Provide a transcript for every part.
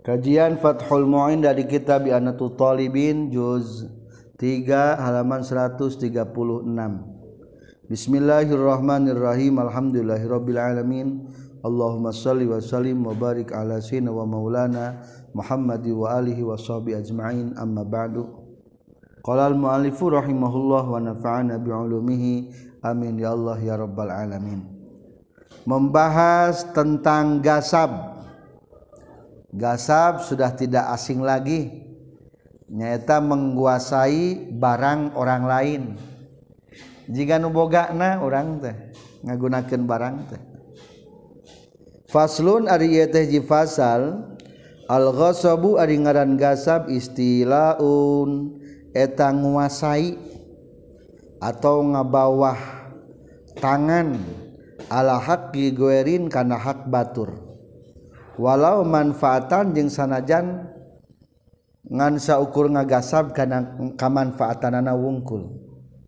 Kajian Fathul Mu'in dari kitab I'anatul Talibin juz 3 halaman 136. Bismillahirrahmanirrahim. Alhamdulillahirabbil alamin. Allahumma shalli wa sallim wa barik ala sayyidina wa maulana Muhammad wa alihi wa sahbihi ajma'in. Amma ba'du. Qala al-mu'allifu rahimahullah wa nafa'ana bi 'ulumihi. Amin ya Allah ya rabbal alamin. Membahas tentang gasab. Gasab sudah tidak asing lagi, nyata menguasai barang orang lain. Jika nu bogana orang teh ngagunakeun barang teh. Faslun ari ieu teh ji fasal, al-ghasabu ari ngaran gasab istilaun eta nguasai atau ngabawah tangan ala haqqi goerin kana hak batur. Walau manfaatan jeung sanajan ngan saukur ngagasab kana kamanfaatanana wungkul.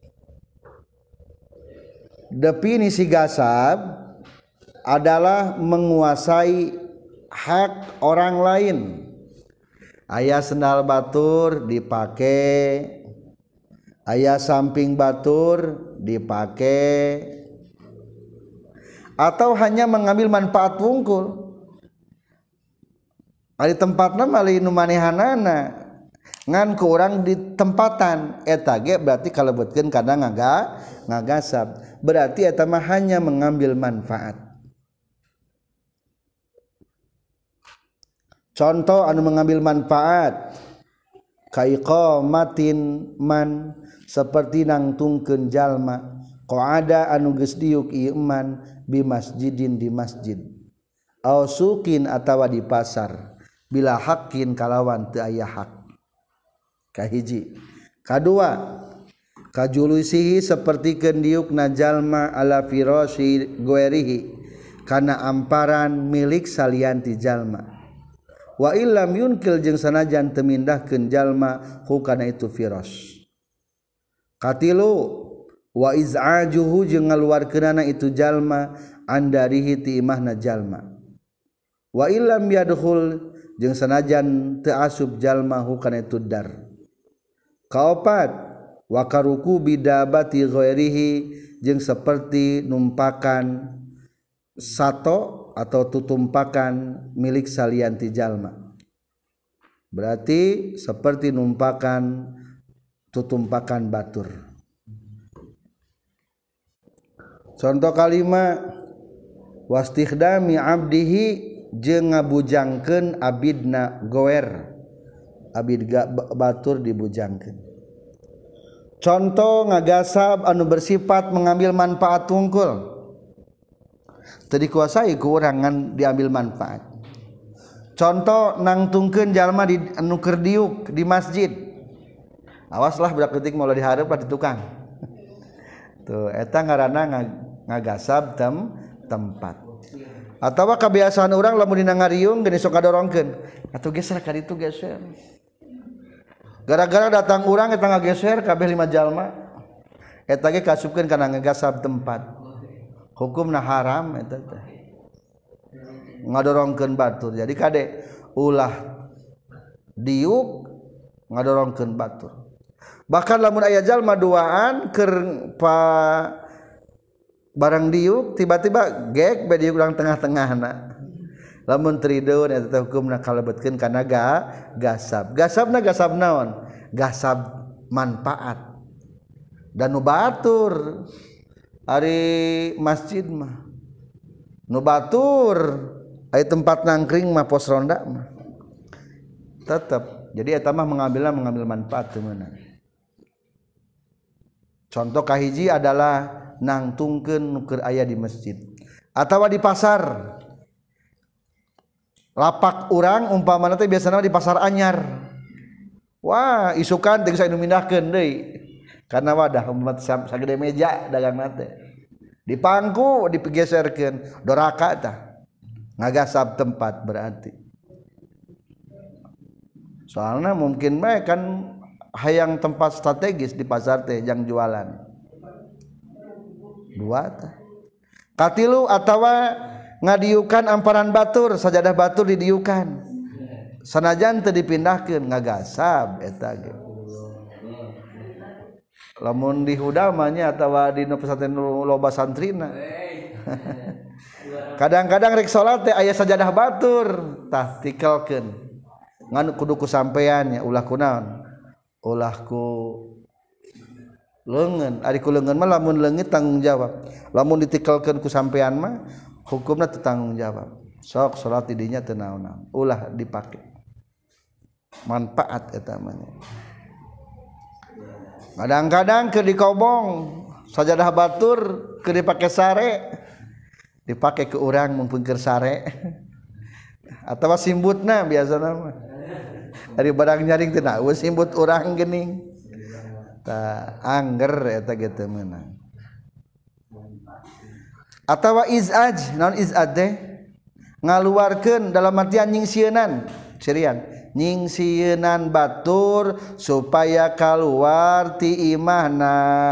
Definisi gasab adalah menguasai hak orang lain. Aya sendal batur dipake, aya samping batur dipake, atau hanya mengambil manfaat wungkul. Ari tempatna mali nu manehanana ngan ku urang di tempatan eta ge berarti kalebetkeun kana ngagasab, berarti eta mah hanya mengambil manfaat. Contoh anu mengambil manfaat kaiqamatin man seperti nangtungkeun jalma qa'ada anu geus diuk ieu man bi masjidin di masjid au suqin atawa di pasar bila hakin kalawan teu aya hak. Kahiji. Kadua, kajulusihi sapertikeun diukna jalma ala firasyi goerihi kana amparan milik salianti jalma. Wa illam yunkil jeung sanajan teu mindahkeun jalma ku kana itu firas. Katilu wa iz'ajuhu jeung ngaluarkeunana itu jalma andarihi ti imahna jalma. Wa illam yadkhul jeung sanajan teu asup jalma hukana itu dar. Kaopat wa karuku bidabati ghairihi jeung seperti numpakan sato atau tutumpakan milik salianti jalma. Berarti seperti numpakan tutumpakan batur. Contoh kalima wastikhdami abdihi jeung ngabujangkeun abidna goer, abid batur dibujangkeun. Contoh ngagasab anu bersifat mengambil manfaat tungkul teu dikuasai ku urang ngan diambil manfaat. Contoh nangtungkeun jalma di anu keur diuk di masjid, awaslah budak leutik mau dihareup di tukang tuh eta ngaranna ngagasab tempat. Atawa kebiasaan orang lamun dina ngariung geus sok kadorongkeun atuh geser ka ditu geser, gara-gara datang urang eta ngageser kabeh 5 jalma eta ge kasupkeun kana ngagasab tempat, hukumna haram eta teh ngadorongkeun batur. Jadi kade ulah diuk ngadorongkeun batur. Bahkan lamun aya jalma duaan keur barang diuk tiba-tiba gek bade urang tengah-tengahna, lamun trideun eta hukumna kalebetkeun kana gasab. Gasabna gasab naon? Gasab manfaat. Dan nu batur ari masjid mah nu batur aya tempat nangkring mah pos ronda mah tetep. Jadi eta mah mengambil manfaat teu meunang. Contoh kahiji adalah nangtungkeun nu keur aya di masjid atawa di pasar. Lapak urang umpamana teh biasana di pasar anyar. Wah, isukan teh geus anu mindahkeun deui. Karena wadah umat sagede meja dagangna teh. Dipangku digeserkeun, doraka tah. Ngagasab tempat berarti. Soalna mungkin bae kan hayang tempat strategis di pasar teh yang jualan. Dua tah. Katilu atawa ngadiukan amparan batur, sajadah batur didiukan sanajan teu dipindahkeun ngagasab eta ge lamun di hudama nya atawa di pesantren loba santrina kadang-kadang rek salat teh aya sajadah batur tah tikelkeun ngan kudu ku sampean nya ulah kunaon ulah ku leungeun ari ku leungeun mah lamun leungit tanggung jawab lamun ditikelkeun ku sampean mah hukumna teu tanggung jawab sok salat di dinya teu naon-naon ulah dipake manfaat eta mah kadang-kadang keur dikobong sajadah batur keur dipake sare dipake ke urang mumpung keur sare atawa simbutna biasana mah ari barang nyaring teh na simbut urang geuning tah angger eta ge teu meunang atawa izaj naon izaj teh ngaluarkeun dalam artian nyingsieunnan cirian nyingsieunnan batur supaya kaluar ti imahna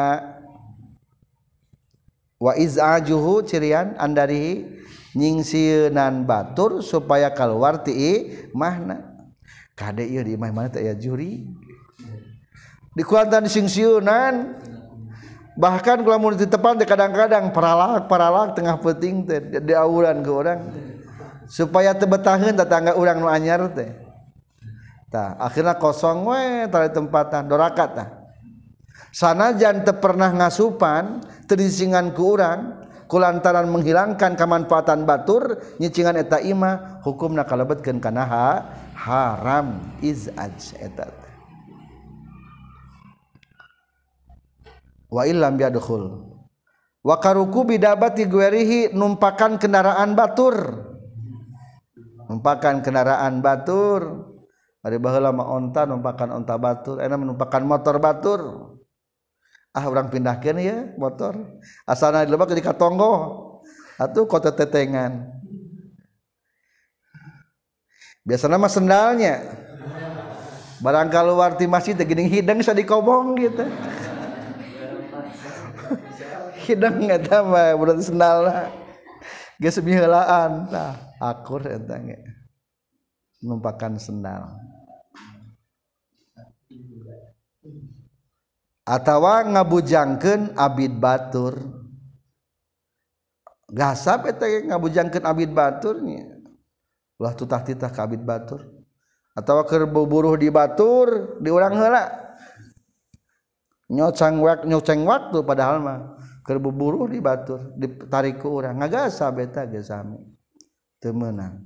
wa izajuhu cirian andari nyingsieunnan batur supaya kaluar ti imahna kade ieu di imah mana teh aya juri dikuantan singsieunan bahkan lamun ditepan teh kadang-kadang paralak tengah peuting teh diawuran ke urang supaya teu betaheun tetangga urang nu anyar teh tah akhirna kosong we tara tempatan dorakat tah sanajan teu pernah ngasupan teu disingan ku urang kulantaran menghilangkan kemanfaatan batur nyicingan eta imah hukumna kalebetkeun kana haram izaj eta wa illam yadkhul wa karuku bidabati guerihi numpakan kendaraan batur ari baheula mah onta numpakan onta batur ena menumpakan motor batur urang pindahkeun ya motor asalna dilebak di katonggo atuh kota tetengan biasana mah sendalnya barang kaluar ti masjid teh geuning hideng sa dikobong gitu hideng eta mah berarti sendalna geus miheulaan tah akur eta ge numpakan sendal atawa ngabujangkeun abid batur gasab eta ge ngabujangkeun abid batur nya ulah tutah-titah ka abid batur atawa keur buburuh di batur di urang heula nyoceng waktu padahal mah keur buburuh di batur ditarik ku urang ngagasab eta ge sami teu meunang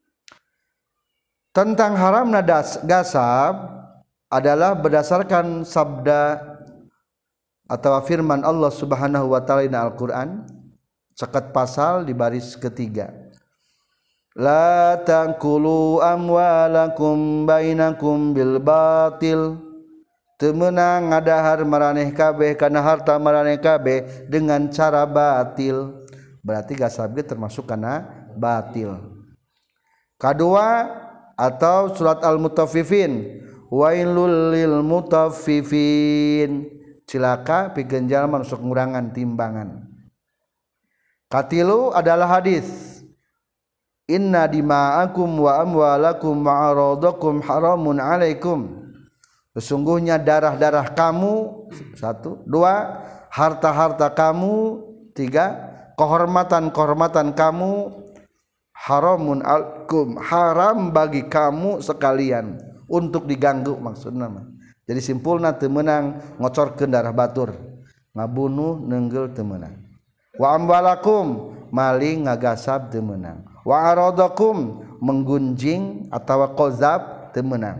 tentang haramna gasab adalah berdasarkan sabda atau firman Allah Subhanahu wa taala di Al-Qur'an sekat pasal di baris ketiga la taqulu amwalakum bainakum bil batil teu meunang ngadahar maraneh kabeh kana harta maraneh kabeh dengan cara batil berarti gasab ge termasuk kana batil kadua atau surat al-mutaffifin wailul lil mutaffifin cilaka pikeun jalma nu sok ngurangan timbangan katilu adalah hadis inna dima'akum wa amwalakum wa aradakum haramun alaikum sesungguhnya darah-darah kamu satu dua harta-harta kamu tiga kehormatan-kehormatan kamu haramun alaikum haram bagi kamu sekalian untuk diganggu maksudna mah jadi simpulna teu meunang ngocorkeun darah batur ngabunuh neunggel teu meunang wa amwalakum maling ngagasab teu meunang wa aradakum menggunjing atawa qazab teu meunang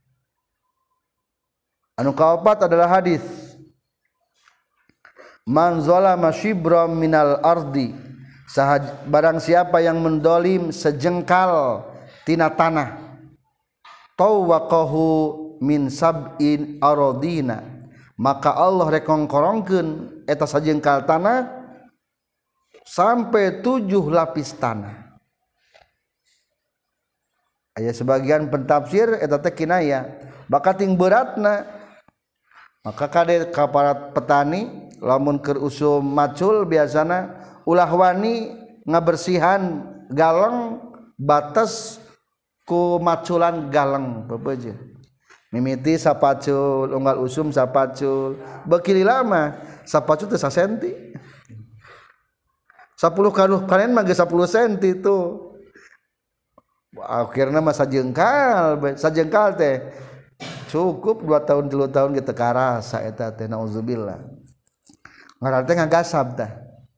anu kaopat adalah hadis man zalama shibram minal ardi barang siapa yang mendolim sejengkal tina tanah tawaqahu min sab'in aradina maka Allah rekongkorongkeun eta sajengkal tanah sampai 7 lapis tanah aya sebagian pentafsir eta teh kinaya bakating beratna maka kade ka para petani lamun keur usum macul biasana ulah wani ngabersihan galeng batas ku maculan galeng bebeje mimiti sapacul unggal usum sapacul beuki lama sapacul teh sasenti 10 kanuh kanen mah 10 senti tuh akhirna mah sajengkal teh cukup 2 tahun 3 tahun kita karasa eta teh nauzubillah ngaran teh ngagasab tah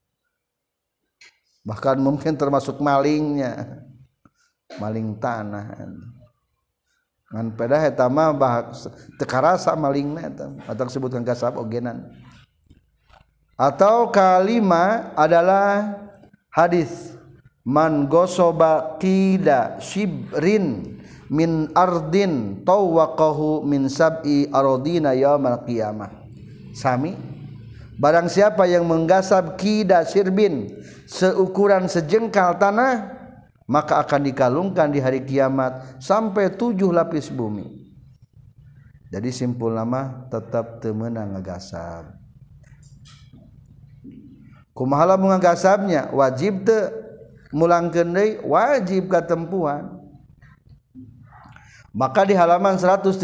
bahkan mungkin termasuk malingnya maling tanah ngan pedah eta mah teu karasa malingna eta atau disebutkan gasab ogenan atau kalima adalah hadis man gosoba qida shibrin min ardin tawaqahu min sab'i aradina yaumal qiyamah sami barang siapa yang menggasap qida sirbin seukuran sejengkal tanah maka akan dikalungkan di hari kiamat sampai 7 lapis bumi jadi simpul nama tetap teu meunang ngagasap kumaha lamun ngagasapnya wajib teu mulangkeun deui wajib katempuhan maka di halaman 137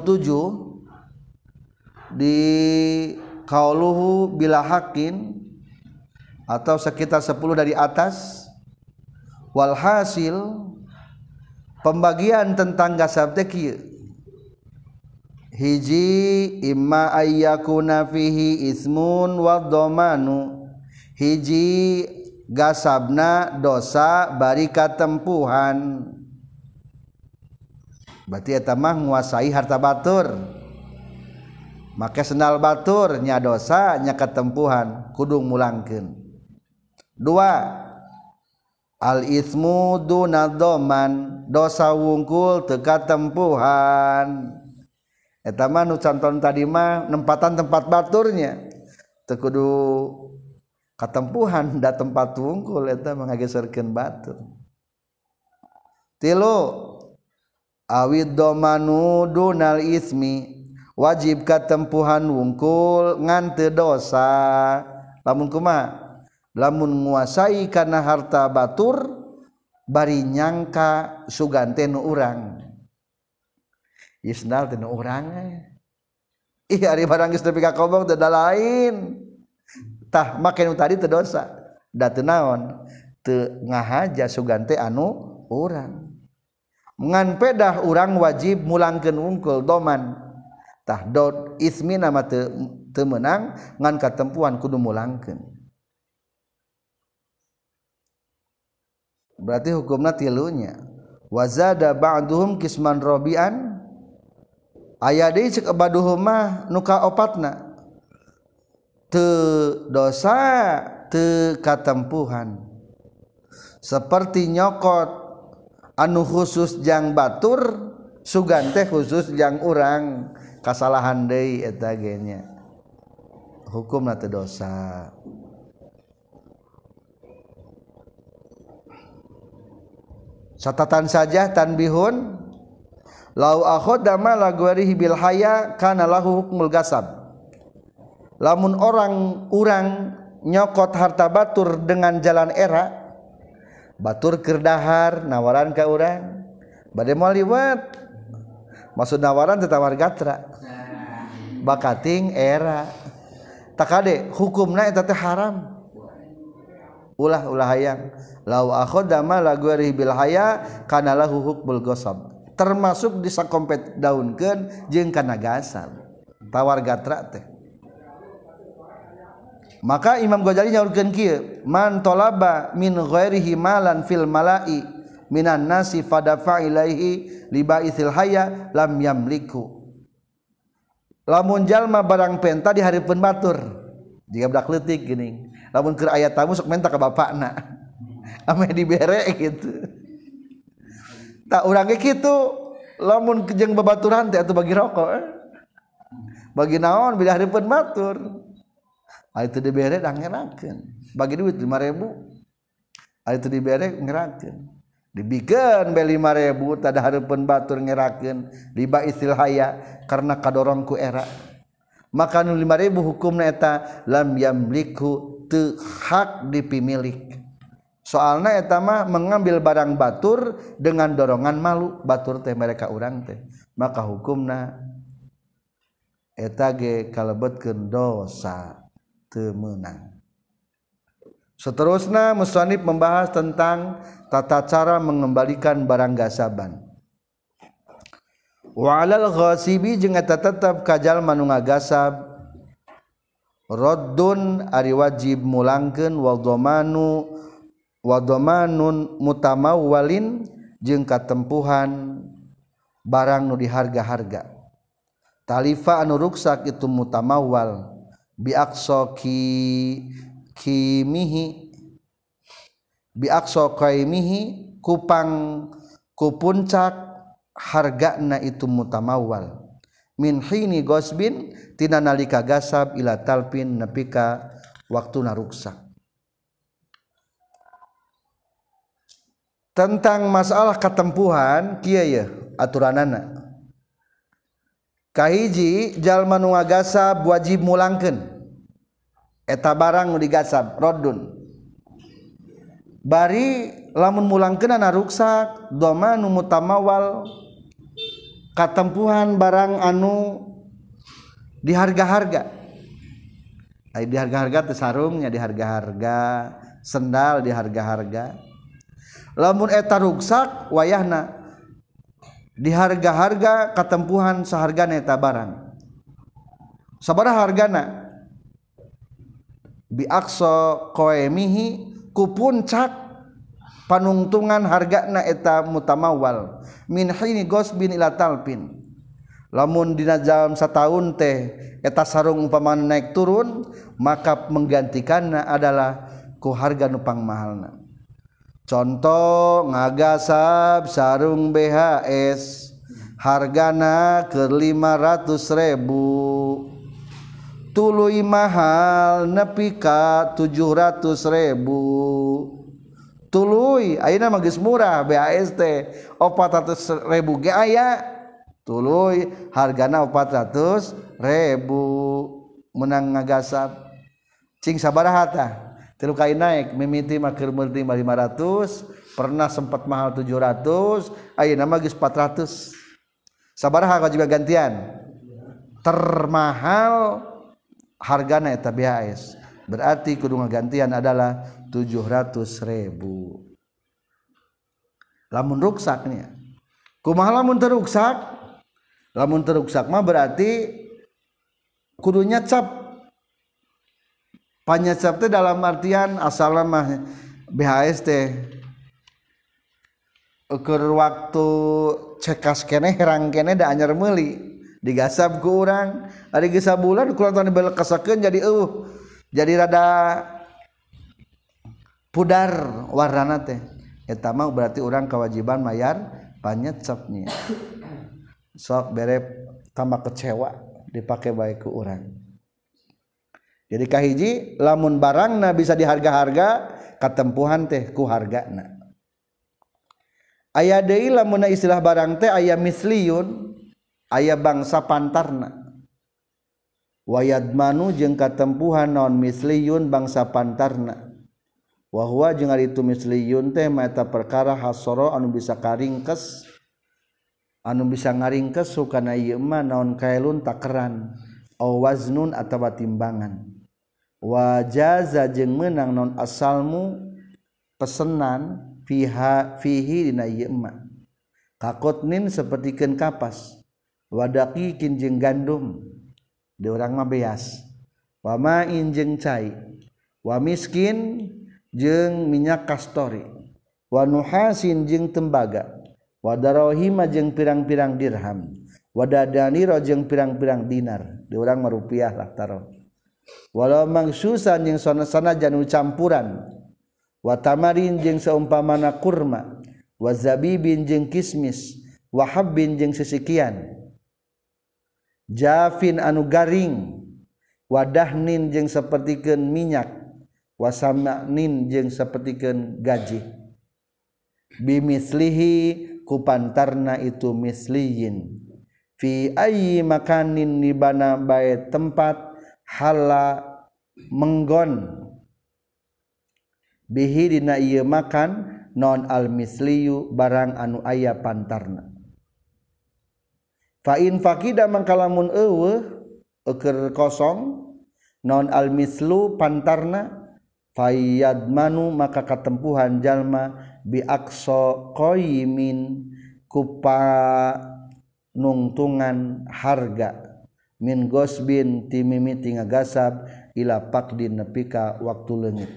di qauluhu bila hakin atau sekitar 10 dari atas walhasil pembagian tentang gasab teh kieu hiji imma ayyakuna fihi ismun wa dhamanu hiji gasabna dosa bari katempuhan berarti eta mah nguasai harta batur make sendal batur nya dosa nya katempuhan kudu mulangkeun 2 al ismu duna dhaman dosa wungkul teu katempuhan eta mah nu canton tadi mah nempatan tempat baturnya teu kudu katempuhan da tempat wungkul eta mah ngageserkeun batur 3 awid dhamanu dunal ismi wajib katempuhan wungkul ngan teu dosa lamun kumaha lamun nguasai kana harta batur bari nyangka sugante nu urang isnal teh nu urang ih ari barang geus nepi ka kobong teh da lain tah make nu tadi teu dosa da teu naon teu ngahaja sugante anu urang ngan pedah urang wajib mulangkeun wungkul doman tah dot ismina mah teu meunang ngan katempuhan kudu mulangkeun berarti hukumna tilunya wazada ba'duhum kisman rabi'an aya deui ceuk baduhum mah nu kaopatna teu dosa teu katempuhan seperti nyokot anu khusus jang batur sugan teh khusus jang urang kasalahan deui eta ge nya hukumna teu dosa catatan saja tanbihun lau akhadha mala ghairihi bil haya kana lahu hukmul gasab lamun urang nyokot harta batur dengan jalan era batur keur dahar nawaran ka urang bade moal liwat maksud nawaran teh tawar gatra bakating era takade hukumna eta teh haram ulah hayang lau akhadha mala ghairihi bil haya kana lahu hukmul ghasab termasuk disakompet daunkeun jeung kana gasab tawar gatra teh maka Imam Ghazali nyaurkeun kieu man talaba min ghairihi malan fil mala'i minan nasi fadafa ilaihi li ba'ithil haya lam yamliku lamun jalma barang penta dihareupeun batur jika budak leutik geuning lamun keur aya tamu sok menta ka bapakna ame dibere gitu tak urang ge kitu lamun jeung babaturan teh atuh bagi rokok bagi naon bila hareupeun batur ari teu dibere da ngerakeun bagi duit 5.000 ari teu dibere ngerakeun dibikeun be 5.000 tada hareupeun batur ngerakeun riba istil haya karena kadorong ku era maka nu 5.000 hukumna eta lam yamliku teu hak dipimilik soalna eta mah mengambil barang batur dengan dorongan malu batur teh mereka urang teh maka hukumna eta ge kalebetkeun dosa teu meunang. Seterusnya musannif membahas tentang tata cara mengembalikan barang gasaban. Wa 'alal ghasibi jeung eta tetep ka jalma nu ngagasab raddun ari wajib mulangkeun wa dhamanun mutamawwalin jeung katempuhan barang nu diharga-harga. Talifa anu ruksak itu mutamawwal bi aqsa qaimihi ku puncak hargana itu mutamawwal min hini gosbin tina nalika gasab ila talpin nepi ka waktuna ruksak. Tentang masalah katempuhan kieu ye aturanana. Kahiji jalma nu ngagasab wajib mulangkeun eta barang nu digasab raddun. Bari lamun mulangkeunna ruksak dhamanu mutamawwal katempuhan barang anu diharga-harga. Ai diharga-harga teh sarungnya diharga-harga, sendal diharga-harga. Lamun eta ruksak wayahna diharga-harga katempuhan sahargana eta barang. Sabaraha hargana? Bi aqsa qaimihi ku puncak panungtungan hargana eta mutamawwal min hini gosbin ila talpin. Lamun dina jam sataun teh eta sarung umpamana naik turun maka menggantikanna adalah ku harga nu pangmahalna. Contoh ngagasab sarung BHS hargana ke 500.000 tuluy mahal nepi ka 700.000 tuluy ayeuna mah geus murah BHS teh 400.000 ge aya tuluy hargana 400.000 menang ngagasab cing sabaraha tah 3 kali naik mimiti mah keur meurti 500 pernah sempat mahal 700 ayeuna mah geus 400 sabaraha wajib gantian termahal hargana eta BHS berarti kudu ngagantian adalah 700.000 lamun ruksaknya kumaha lamun teu ruksak mah berarti kudu nyacap panyacap teh dalam artian asalna mah BHS teh keur waktu cekas keneh herang keneh da anyar meuli digasab ku urang ari geus sabulan kulantaran dibelekasakeun jadi rada pudar warnana teh eta mah berarti urang kewajiban mayar panyacapnya sok bere tambah kecewa dipake bae ku urang. Jadi kahiji lamun barangna bisa diharga-harga katempuhan teh ku hargana. Aya deui lamun istilah barang teh aya misliyun, aya bangsa pantarna. Wayadmanu jeung katempuhan naon misliyun bangsa pantarna. Wa huwa jeung ari itu misliyun teh mata perkara hasara anu bisa karingkes anu bisa ngaringkes sukana ieu mah naon kaelun takeran aw waznun atawa timbangan. Wajaza jeung meunang non asalmu pesenan fihi dina ieu mah kakotnin sapertikeun kapas wadaqiqin jeung gandum di urang mah beas wa ma'in jeung cai wa miskin jeung minyak kastori wa nuhasin jeung tembaga wa darahima jeung pirang-pirang dirham wa dadanira jeung pirang-pirang dinar di urang mah rupiah lah taruh walau mangsusan jeung sanajan campuran wa tamarin jeung saumpamana kurma wa zabibin jeung kismis wa habbin jeung sisikian jafin anu garing wa dahnin jeung sapertikeun minyak wa samanin jeung sapertikeun gaji bimislihi ku pantarna itu misliyin fi ayyi makanin nibana bae tempat hala menggon bihi dina ieu makan non al misliyu barang anu aya pantarna. Fa in faqida mangkalamun eueuh keur kosong non al mislu pantarna fayadmanu maka katempuhan jalma bi aqsa qaimin kupa nungtungan harga min gosbin ti mimiti ngagasab ila paqdin nepika waktu leungit.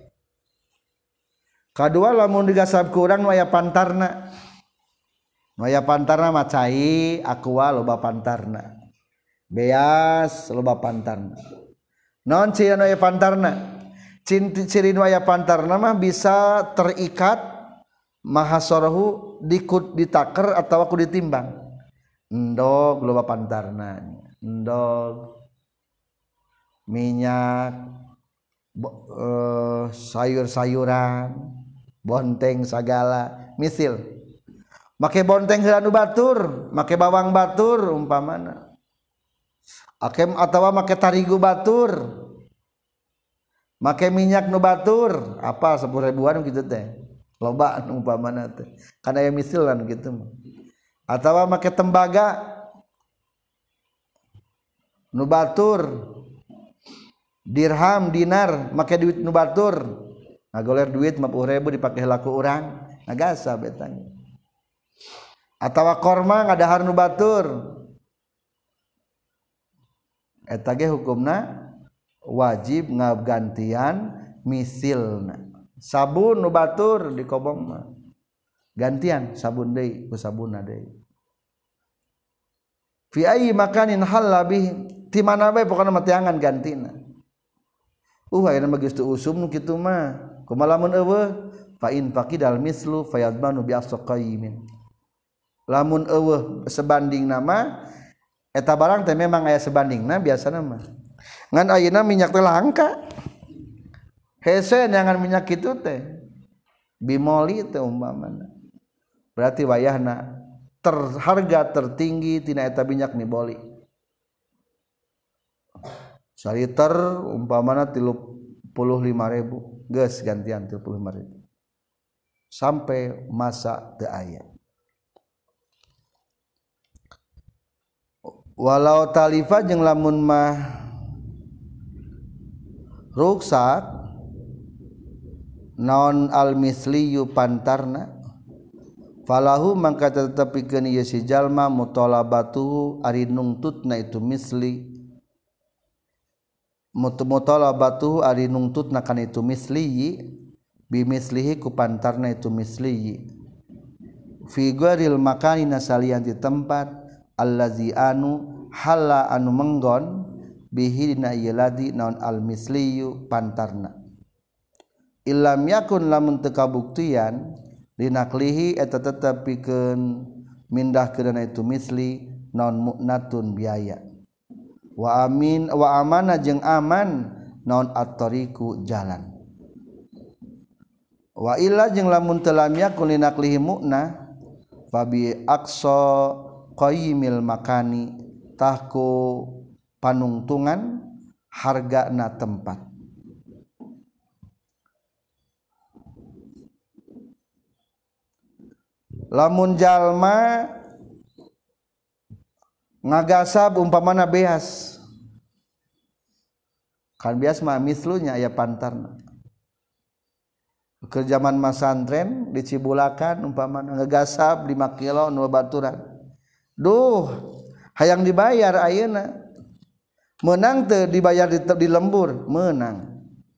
Kadua lamun digasab ku urang nu aya pantarna. Nu aya pantarna mah cai, aqua loba pantarna. Beas loba pantarna. Non ciri nu aya pantarna. Ciri nu aya pantarna mah bisa terikat mahasarahu ditaker atawa ku ditimbang. Endog loba pantarna. Endog minyak sayur-sayuran bonteng sagala misil make bonteng heula nu batur make bawang batur umpamana akem atawa make tarigu batur make minyak nu batur apa 10.000-an kitu teh loba umpamana teh kana aya misil kan kitu atawa make tembaga nu batur dirham dinar make duit nu batur ngagoler duit 50.000 dipake heula ku urang ngagasab eta atawa korma ngadahar nu batur eta ge hukumna wajib ngagantian misilna. Sabun nu batur dikobong mah gantian sabun deui ku sabunna deui. Fi ayyi makanin halla bih ti mana bae pokona mah teangan gantina. Ayeuna mah geus teu usum nu kitu mah. Kumaha lamun eueuh fa in faqidal mislu fayadmanu bi asqaimin. Lamun eueuh sebandingna mah eta barang teh memang aya sebandingna biasana mah. Ngan ayeuna minyak teh langka. Hese neangan minyak kitu teh. Bimoli teh umpamana. Berarti wayahna harga tertinggi tina eta minyak niboli. Saliter umpamana 35.000 geus gantian 35.000 sampai masa teu aya. Walau talifa jeung lamun mah ruksak naon al misliyu pantarna falahu mangka tetepikeun ieu si jalma mutalabatuhu ari nungtutna itu misli mutalabatuhu ari nungtutna kana itu misli bimislihi ku pantarna itu misli fi gharil makani nasalian di tempat allazi anu halla anu menggon bihi dina ieu ladi naon al misliyu pantarna illam yakun lamun teu kabuktian dinaklihi eta tetep pikeun mindah keudana itu misli naon mu'natun biaya wa amana jeung aman naon at-tariqu jalan wa illa jeung lamun teu lam yakun linaklihi mu'na fa bi aqsa qaimil makani tahku panungtungan hargana tempat lamun jalma ngagasab umpamana beas kan beas mah mislunya aya pantarna ke zaman masantren di Cibulakan umpamana ngagasab 5 kilo nu baturan duh hayang dibayar ayeuna menang teu dibayar di lembur menang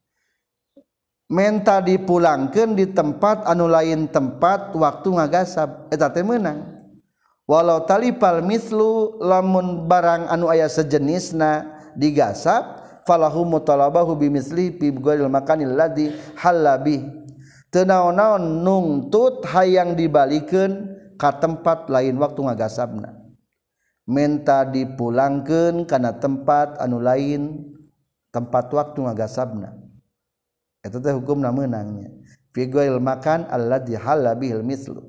menta dipulangkeun di tempat anu lain tempat waktu ngagasab eta teh meunang walau talipal mislu lamun barang anu aya sejenisna digasab falahu mutalabahu bimisli fi ghairil makanil ladzi halabi teu naon-naon nungtut hayang dibalikeun ka tempat lain waktu ngagasabna menta dipulangkeun kana tempat anu lain tempat waktu ngagasabna eta teh hukumna meunangnya fi ghairil makan alladzi halabihil mislu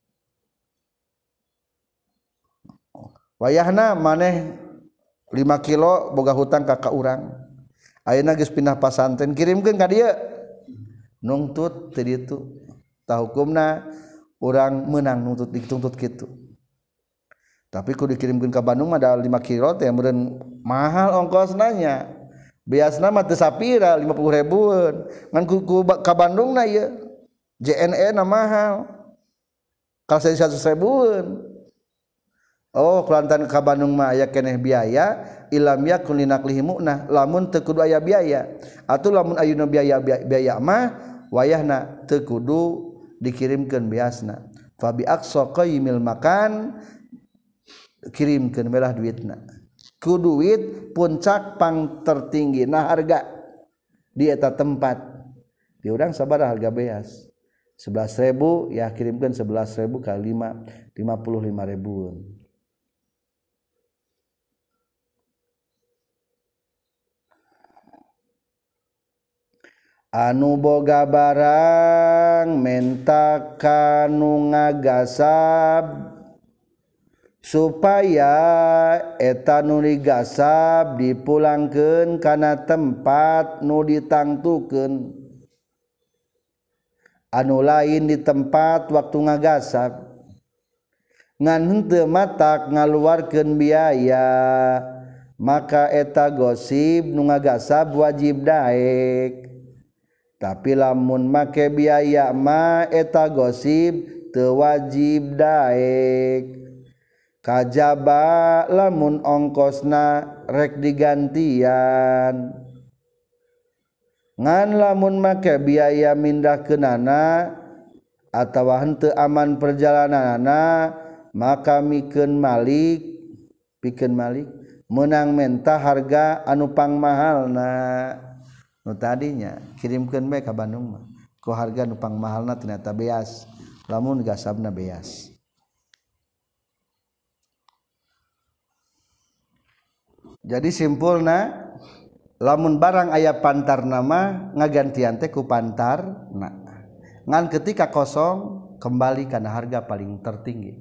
wayahna maneh 5 kilo boga hutang ka urang ayeuna geus pindah pasantren kirimkeun ka dieu nungtut tadi itu tah hukumna orang menang nuntut dituntut gitu tapi kudu dikirimkeun ka Bandung mah da 5 kilo teh meureun mahal ongkosna biasana mah teu sapira 50.000 ngan ku ka Bandungna ieu JNE na mahal kalau 100.000 oh kulantan ka Bandung mah aya keneh biaya ilam yakun linaklihi mu'nah lamun teu kudu aya biaya atuh lamun ayeuna biaya mah wayahna teu kudu dikirimkeun beasna fa bi aqsa qaimil makan kirimkeun belah duitna ku duit puncak pang tertinggina harga di eta tempat di urang sabaraha harga beas 11.000 ya kirimkeun 11.000 kali 5 55.000 anu boga barang menta kanu ngagasab supaya eta nu digasab dipulangkeun kana tempat nu ditangtukeun anu lain di tempat waktu ngagasab ngan henteu matak ngaluarkeun biaya maka eta gosib nu ngagasab wajib daek tapi lamun make biaya mah eta gosib teu wajib daek kajaba lamun ongkosna rek digantian ngan lamun make biaya mindahkeunana atawa henteu aman perjalananana maka pikeun malik meunang menta harga anu pangmahalna nu tadinya kirimkeun bae ka Bandung mah ku harga nu pangmahalna ternyata beas lamun gasabna beas jadi simpulna lamun barang aya pantarna mah ngagantian teh ku pantarna ngan ketika kosong kembali kana harga paling tertinggi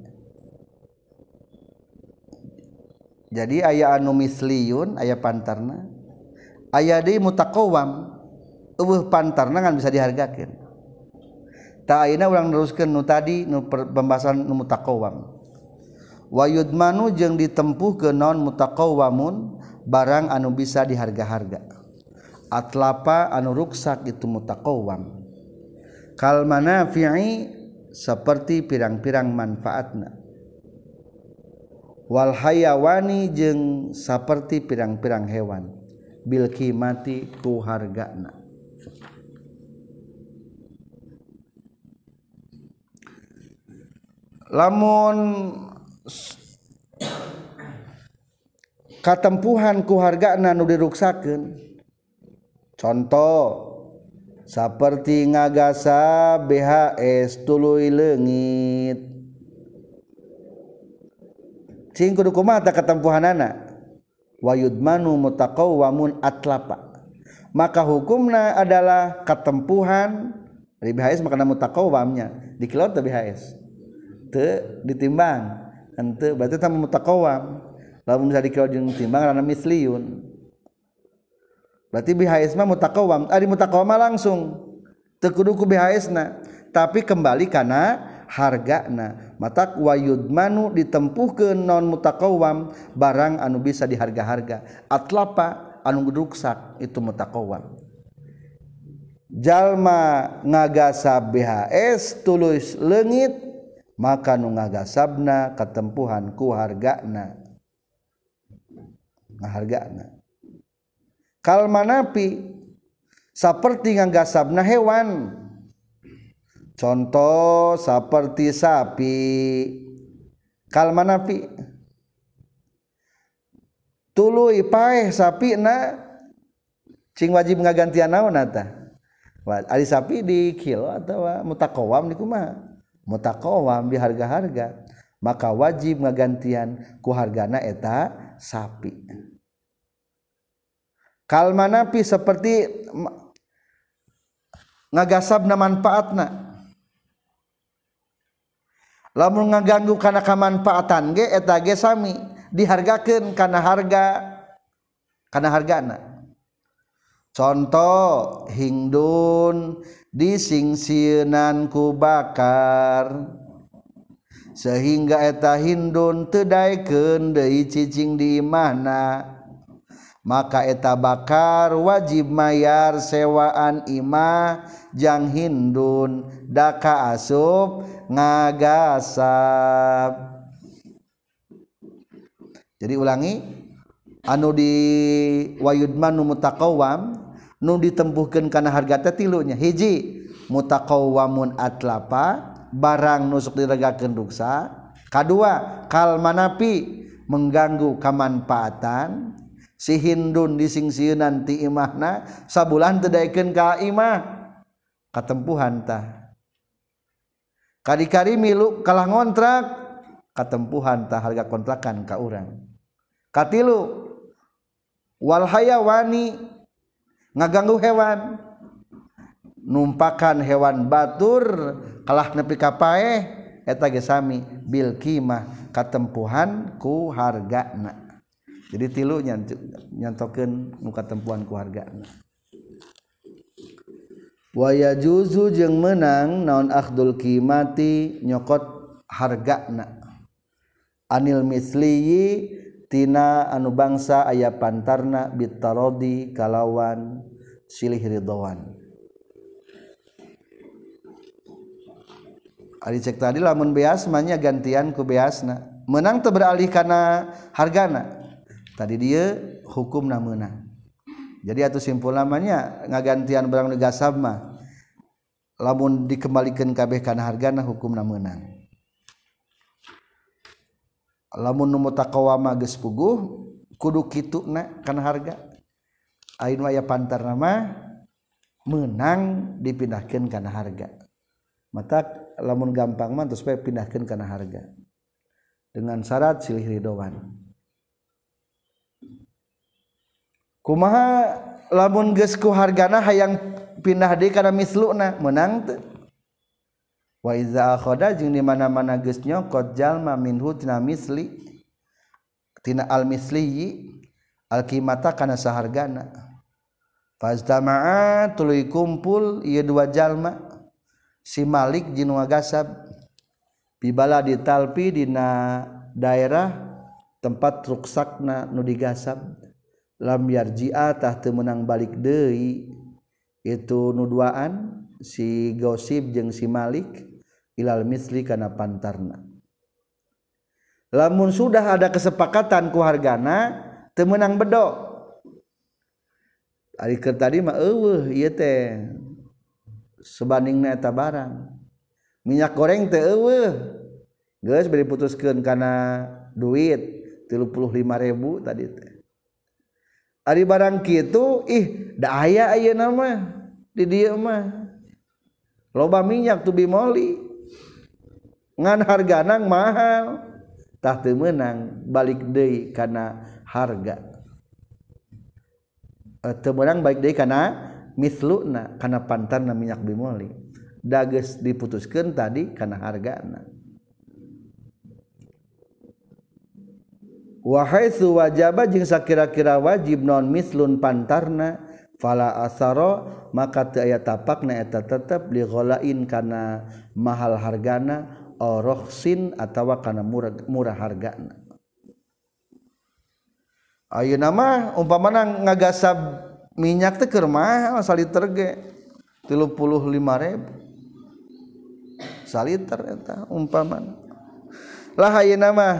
jadi aya anu misliyun aya pantarna aya deui mutaqawwam eueuh pantarna ngan bisa dihargakeun ta ayeuna urang neruskeun nu tadi nu pembahasan nu mutaqawwam wa yudmanu jeung ditempuhkeun naon mutaqawwamun barang anu bisa diharga-harga atlapa anu ruksak itu mutaqawwam kal manafi'i seperti pirang-pirang manfaatna wal hayawani jeung saperti pirang-pirang hewan bil qimati ku hargana lamun katempuhan ku hargana nu diruksakeun contoh saperti ngagasa BHS tuluy leungit cing kudu kumaha katempuhanana wa yudmanu mutaqawwamun atlapa maka hukumna adalah katempuhan dari BHS makana mutaqawwamnya dikilot teh BHS teu ditimbang henteu berarti tah mutaqawwam lamun bisa dikilot jeung timbang rana misliyun berarti BHS mah mutaqawwam ari mutaqawwam mah langsung teu kudu ku BHS na tapi kembali kana hargana matak wa yudmanu ditempuhkeun non mutaqawwam barang anu bisa diharga-harga atlapa anu ruksak itu mutaqawwam jalma ngagasab BHS tulus leungit maka nu ngagasabna katempuhan ku hargana ngahargana kal manapi saperti ngagasabna hewan contoh seperti sapi kal manafi tuluy paeh sapina cing wajib ngagantian naon eta ari sapi di kilo atawa mutaqawwam di kumaha mutaqawwam di harga-harga maka wajib ngagantian ku hargana eta sapi kal manafi seperti ngagasabna manfaatna lamun ngaganggu kana kamanfaatan ge eta ge sami dihargakeun kana hargana contoh hingdun disingsieunan ku bakar sehingga eta hindun teu daekeun deui cicing di imahna maka eta bakar wajib mayar sewaan imah jang hindun daka asup ngagasab. Jadi ulangi anu di wayudman nu mutaqawwam nu ditempuhkeun kana harga teh tilunya. Hiji mutaqawwamun atlapa barang nusuk diregakeun duksa. Kadua kal manapi mengganggu kamanfaatan si hindun disingsieunan ti imahna sabulan teu daekeun ka imah katempuhan tah. Kadi-kadi milu kalah ngontrak katempuhan tah harga kontrakan ka urang. Katilu wal hayawani ngaganggu hewan numpakan hewan batur kalah nepi ka paeh eta ge sami bil qimah katempuhan ku hargana. Jadi tilu nyantokeun nu katempuhan ku hargana. Wa yajuzu jeung meunang naon akhdul qimati nyokot hargana anil misliyi tina anu bangsa aya pantarna bitarodi kalawan silih ridwan. Ari cek tadi lamun beas mah nya gantian ku beasna. Menang teu beralih kana hargana. Tadi dia hukumna meunang. Jadi atuh simpul namanya ngagantian barang nu gasab mah lamun dikembalikeun kabeh kana hargana hukumna meunang. Lamun nu mutaqawwama geus puguh kudu kituna kana harga. Ayeuna aya pantarna mah meunang dipindahkeun kana harga. Mata lamun gampang mah terus bae pindahkeun kana harga dengan syarat silih ridwan. Kumaha lamun geus ku hargana hayang pindah deui kana misluna meunang teu? Wa iza akhadha jeung di mana-mana geus nyokot jalma minhu tina misli tina al misli al qimata kana sahargana. Fastama'a tuluy kumpul ieu dua jalma si Malik jeung ngagasab bibala ditalpi dina daerah tempat ruksakna nu digasab lam yarji'a tah teu meunang balik deui itu nu duaan si Gosib jeung si Malik ilal misli kana pantarna. Lamun sudah ada kesepakatan ku hargana teu meunang bedo. Ari keur tadi mah eueuh ieu teh sebandingna eta barang. Minyak goreng teh eueuh. Geus bari putuskeun kana duit 35.000 tadi teh. Ari barang kitu da aya ayeuna mah di dieu mah. Loba minyak tu bimoli. Ngan hargana mahal. Tah teu meunang balik deui kana harga. Teu meunang balik deui kana misluna kana pantarna minyak bimoli da geus diputuskeun tadi kana hargana. Wa haitsu wajaba jeung sakira-kira wajib non mislun pantarna fala asara maka teu aya tapakna eta tetep li ghalain kana mahal hargana orohsin atawa kana murah hargana. Ayeuna mah umpamana ngagasab minyak teh keur mahal saliter ge 35.000 saliter eta umpamana. Lah ayeuna mah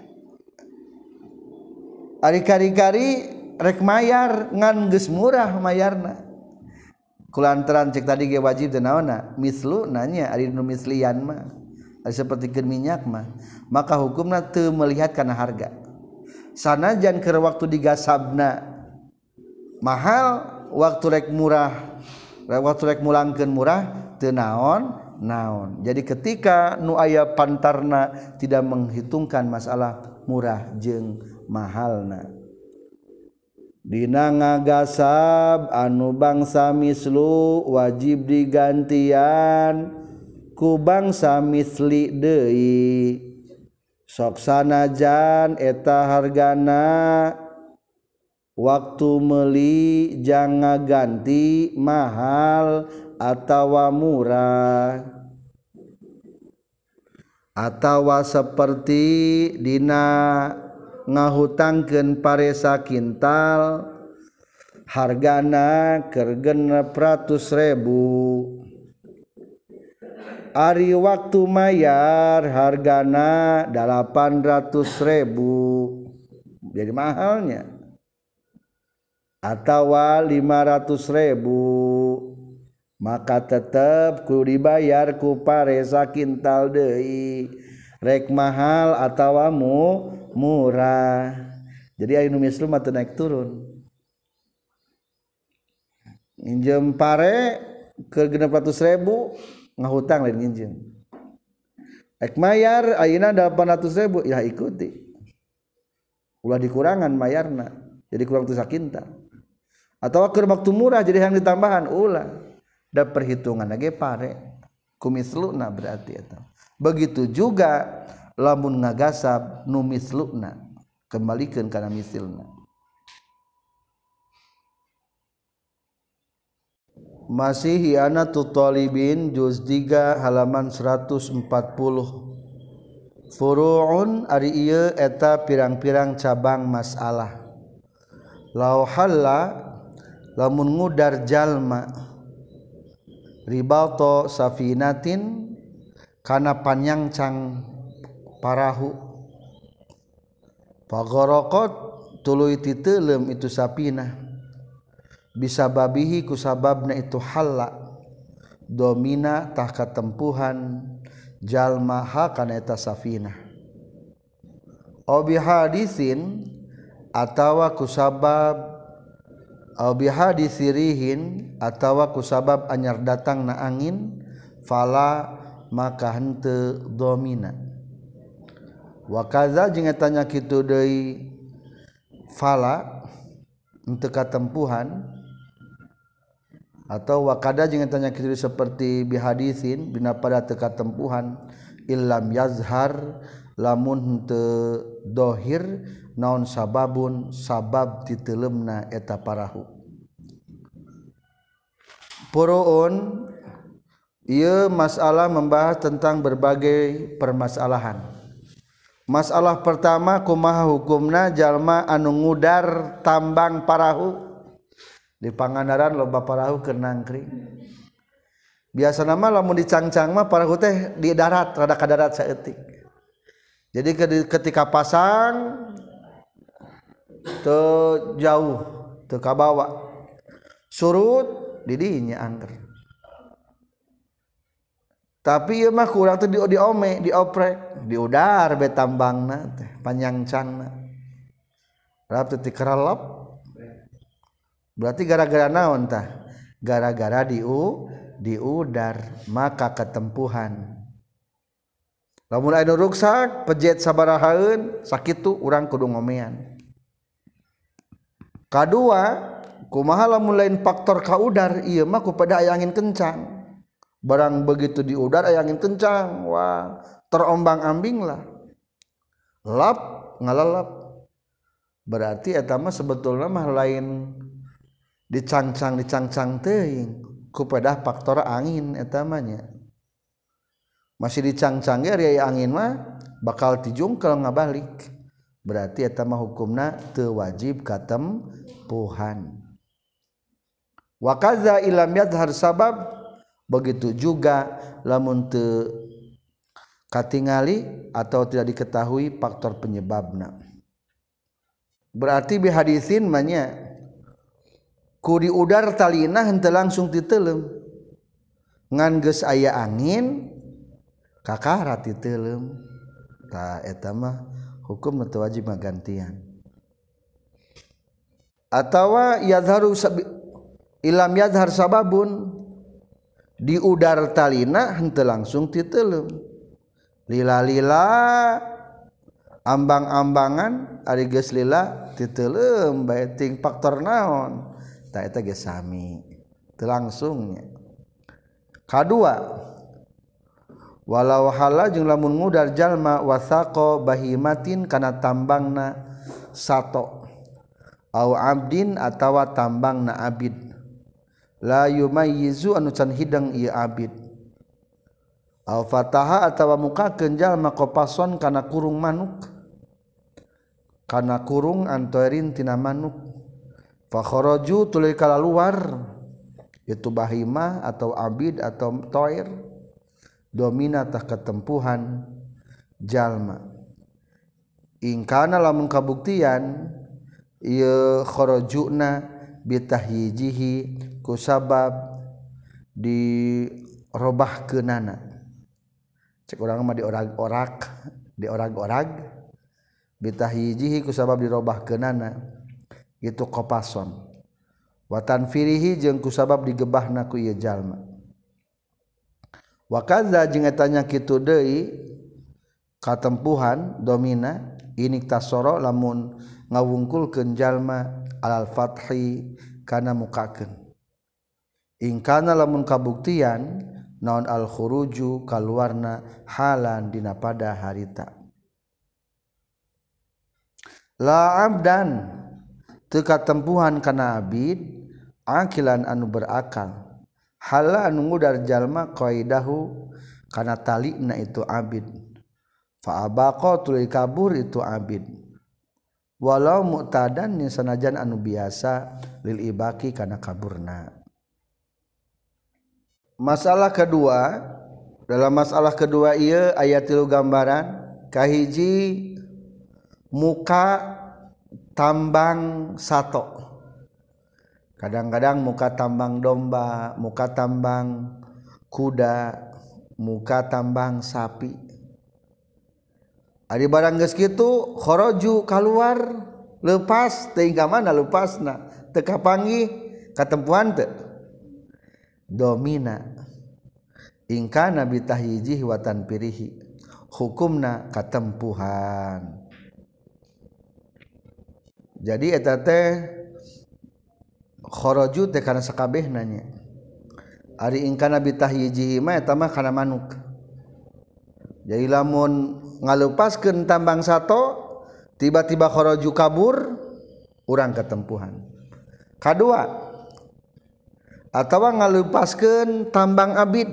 ari kari-kari rek mayar ngan geus murah mayarna. Kulantaran cek tadi ge wajib teh naonna mislu nanya ari nu mislian mah ari sapertikeun minyak mah maka hukumna teu melihat kana harga. Sanajan keur waktu digasabna mahal waktu rek murah waktu rek mulangkeun murah teu naon. Jadi ketika nu aya pantarna tidak menghitungkan masalah murah jeung mahalna dina ngagasab anu bangsa mislu wajib digantian ku bangsa misli deui sok sanajan eta hargana waktu meuli jang ngaganti mahal atawa murah atawa seperti dina ngahutangkeun paresa kintal hargana keur 600.000 ari waktu mayar hargana 800.000 jadi mahalnya atawa 500.000 maka tetap kudu dibayar ku paresa kintal deui rek mahal atawa murah jadi anu mislu mah teu naik turun nginjem pare ke 600.000 ngahutang lain nginjem rek mayar ayeuna 800.000 ya ikuti ulah dikurangan mayarna jadi kurang tu sakintal atawa keur waktu murah jadi yang ditambahan ulah da perhitungan lagi pare kumisluna berarti eta begitu juga lamun ngagasab nu misluna kembalikeun kana misilna masih hianatu talibin juz 3 halaman 140 furu'un ari ieu eta pirang-pirang cabang masalah lau halla lamun ngudar jalma ribato safinatin kana panyangcang parahu pagorokot tuluy titeulem itu sapinah bisa babihi ku sababna itu halla domina tah katempuhan jalma ha kana eta safinah obi hadisin atawa ku sabab obi hadisirihin atawa ku sabab anyar datang na angin fala maka henteu domina wa kaza jeung eta nya kitu deui fala henteu katempuhan atau wakada jeung eta nya kitu seperti bihadisin bina pada teu katempuhan illam yazhar lamun henteu dohir naon sababun sabab diteuleumna eta parahu puruun ieu masalah membahas tentang berbagai permasalahan. Masalah pertama kumaha hukumna jalma anu ngudar tambang parahu di Pangandaran loba parahu keur nangkring. Biasana mah lamun dicangcang mah parahu teh di darat rada ka darat saeutik. Jadi ketika pasang teu jauh teu ka bawah surut di dinya angker. Tapi ieu mah kurang teh diome dioprek diudar be tambangna teh panyangcangna. Rap teh dikerelep. Berarti gara-gara naon tah? Gara-gara diudar maka ketempuhan. Lamun aya ruksak pejet sabarahaeun sakitu urang kudu ngomean. Kadua, kumaha lamun lain faktor kaudar ieu mah kupada aya angin kencang. Barang begitu diudar aya angin kencang, wah terombang-ambing lah. Lap ngalalap. Berarti eta mah sebetulna mah lain dicangcang teuing kupada faktor angin eta mah nya. Masih dicangcang ge ari angin mah bakal tijungkel ngabalik. Berarti eta mah hukumna teu wajib katempuhan. Wa kaza ilam yadhhar sabab begitu juga lamun teu katingali atau tidak diketahui faktor penyebabna. Berarti bihadisin mah nya ku diudar talina henteu langsung diteuleum. Ngan geus aya angin kakara diteuleum. Tah eta mah hukum teu wajib gantian. Atawa yadharu ilam yadhar sababun diudar talina henteu langsung diteuleum. Lila-lila ambang-ambangan ari geus lila diteuleum bae ting faktor naon? Tah eta ge sami teu langsungnya. Kadua walau hala jeung lamun ngudar jalma wasaqa bahimatin kana tambangna sato au abdin atawa tambangna abid la yumayyizu anu can hidang ieu abid al fataha atawa mukakeun jalma qapason kana kurung manuk kana kurung antoerin tina manuk fa kharaju tuluy kalaluar itu bahimah atau abid atau toir domina tah ketempuhan jalma ingkana lamun kabuktian ieu kharajuna bitahyijihi kusabab dirobahkeunana cek urang mah diorag-orag bitahyijihi kusabab dirobahkeunana itu qapason wa tanfirihi jeung kusabab digebahna ku ieu jalma wa kadza jeung eta nya kitu deui katempuhan domina inik tasoro lamun ngawungkulkeun jalma alal fathi kana mukakeun ingkana lamun kabuktian naon al khuruju kaluarna halan dina pada harita la abdan teu katempuhan kana abid akilan anu berakal hala anu ngudar jalma qaidahu kana talina itu abid fa abaqa tuluy kabur itu abid walau mu'tadan yang sanajan anu biasa lil ibaki kana kaburna. Masalah kedua, dalam masalah kedua ieu aya 3 gambaran kahiji muka tambang sato. Kadang-kadang muka tambang domba, muka tambang kuda, muka tambang sapi. Ari barang geus kitu kharaju kaluar leupas teuing ka mana leupasna teu kapanggih katempuhan teu domina ingkana bitahyijihi wa tanpirihi hukumna katempuhan jadi eta teh kharaju teh kana sakabehna nya ari ingkana bitahyijihi mah eta mah kana manuk jadi lamun ngalupaskeun tambang sato tiba-tiba kharaju kabur urang ketempuhan kadua atawa ngalupaskeun tambang abid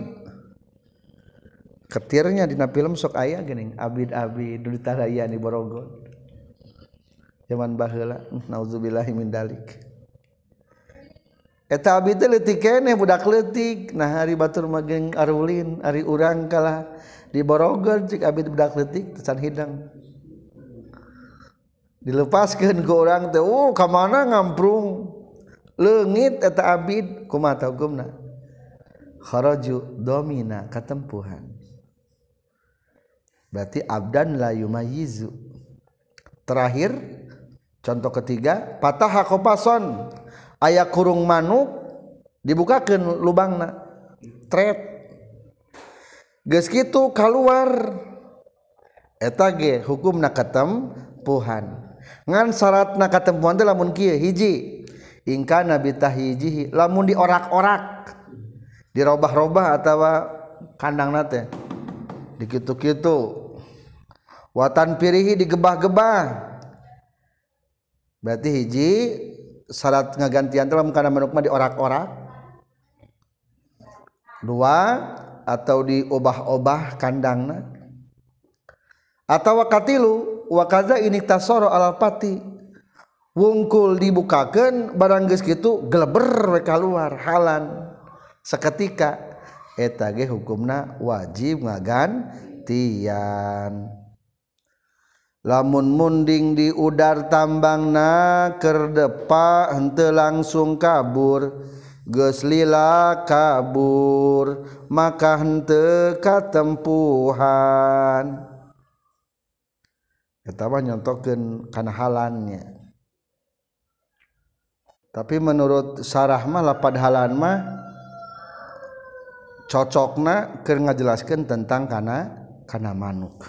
ketirnya dina film sok aya geuning abid-abid nu ditadaya di Borogon zaman baheula nauzubillahi min dalik eta abid teh leutik keneh budak leutik nah hari batur mageng arulin ari urang kalah di Borogon cik abid budak leutik tecan hidang dilepaskeun ku urang teh ka mana ngamprung leungit eta abid kumaha hukumna kharaju domina katempuhan berarti abdan la yumayyizu terakhir contoh ketiga patah qapason aya kurung manuk dibukakeun lubangna tret geus kitu kaluar eta ge hukumna katempuhan ngan syaratna katempuhan teh lamun kieu hiji ingkana bitahyijihi lamun diorak-orak dirobah-robah atawa kandangna teh dikitu-kitu wa tanpirihi digebah-gebah berarti hiji syarat ngagantian teh lamun kana manuk mah diorak-orak dua atau diobah-obah kandangna atau wakatilu wakaza ini tasoro alal pati wungkul dibukakeun barang geus kitu geleber we kaluar halan saketika eta ge hukumna wajib ngagantian lamun munding di udar tambangna keur depa henteu langsung kabur geus lila kabur maka henteu katempuhan eta mah nyontokeun kana halannya tapi menurut sarah mah lapad halan mah cocokna keur ngajelaskeun tentang kana manuk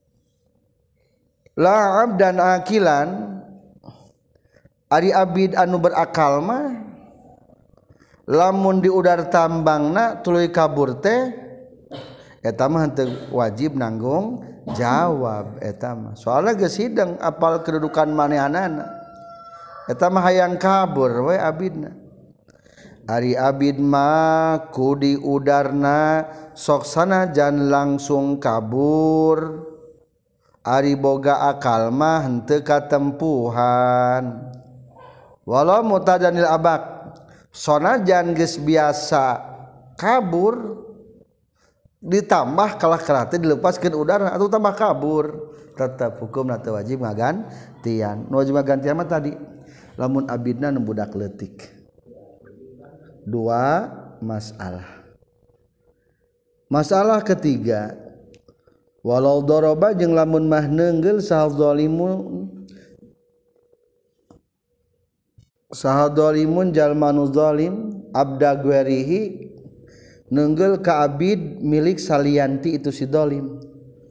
la abdan akilan ari abid anu berakal mah lamun di udar tambangna tuluy kabur teh eta mah henteu wajib nanggung jawab eta mah soalna geus hidang apal kedudukan manehanana eta mah hayang kabur we abidna Ari abid mah kudi udarna soksana jan langsung kabur. Ari boga akal mah henteu katempuhan. Walau mutajanil abak sonajan geus biasa kabur ditambah kalah kerate dilepaskeun udara atau tambah kabur tetap hukumna teu wajib ngagantian. Nu wajib ngagantian mah tadi lamun abidna nu budak leutik. Dua masalah. Masalah ketiga, walau doroba jeung lamun mah neunggel saha zalimun jalma nu zalim abda guerihi neunggel ka abid milik salianti itu si zalim.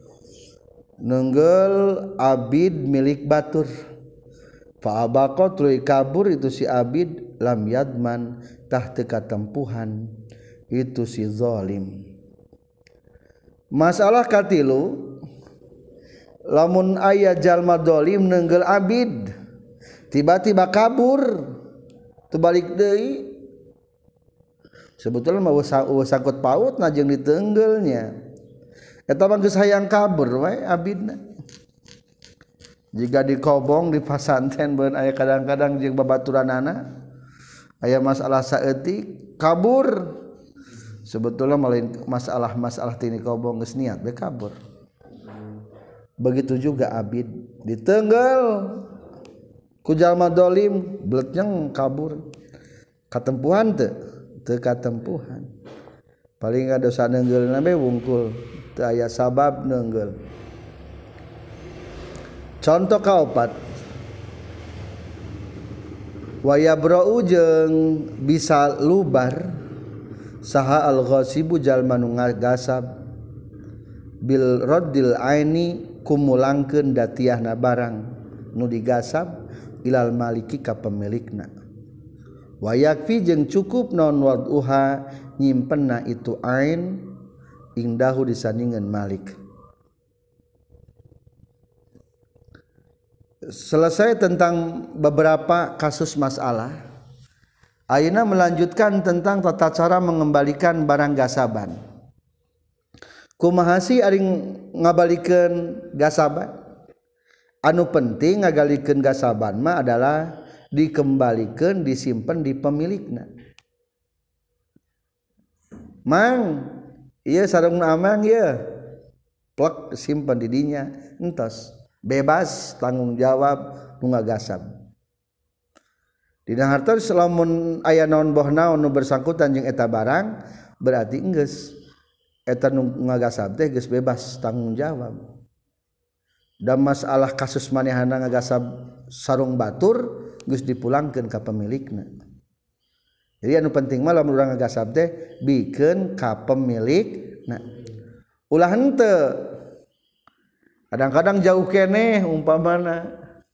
Neunggel abid milik batur. Fa abaqa tuluy kabur itu si abid lam yadman tah teu katempuhan itu si zalim. Masalah katilu lamun aya jalma zalim neunggel abid tiba-tiba kabur teu balik deui sebetulna mah sangkut pautna jeung diteunggelnya eta mah geus hayang kabur we abidna. Jika dikobong di pasantren beun aya kadang-kadang jeung babaturanana aya masalah saeutik kabur sebetulnya malain masalah tini kobong geus niat we kabur. Begitu juga abid diteunggel ku jalma zalim bletnyeng kabur katempuhan teu katempuhan. Paling dosa neunggeulna we wungkul teu aya sabab neunggel. Contoh kaopat wayabra'u jeung bisa lubar saha al-ghasibu jalma nu ngagasab bil raddil aini kumulangkeun datiahna barang nu digasab ilal maliki ka pemilikna. Wa yakfi jeung cukup naon wad'uha nyimpenna itu ain indahu disandingeun malik. Selesai tentang beberapa kasus masalah. Ayeuna melanjutkan tentang tata cara mengembalikan barang gasaban. Kumaha sih ari ngabalikeun gasaban? Anu penting ngagalikeun gasaban mah adalah dikembalikeun disimpen di pemilikna. Mang, ieu sarungna amang ieu. Plek simpen di dinya entos. Bebas tanggung jawab nu ngagasab. Dina harta lamun aya naon boh naon nu bersangkutan jeung eta barang berarti geus eta nu ngagasab teh geus bebas tanggung jawab. Dan masalah kasus manehana ngagasab sarung batur geus dipulangkeun ka pemilikna. Jadi anu penting mah lamun urang ngagasab teh bikeun ka pemilikna. Ulah henteu kadang-kadang jauh keneh umpamana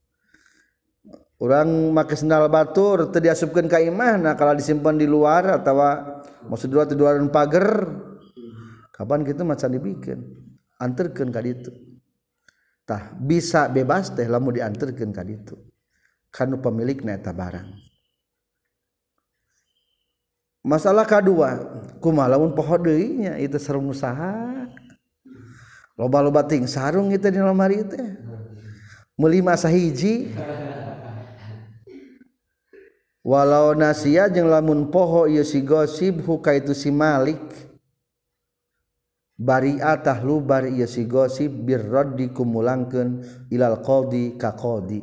urang make sendal batur teu diasupkeun ka imahna kalau disimpan di luar atawa maksud di luar pager kapan kitu macan dibikeun anterkeun ka ditu tah bisa bebas teh lamun dianterkeun ka ditu kanu pemilikna eta barang. Masalah kadua kumaha lamun poho deui nya itu sarung usaha loba-loba ting sarung itu di lemari teh meuli masa hiji walau nasia jeung lamun poho ieu si gosib huka itu si malik bari'atah lubar ieu si gosib birraddi kumulangkeun ilal qadi ka qadi.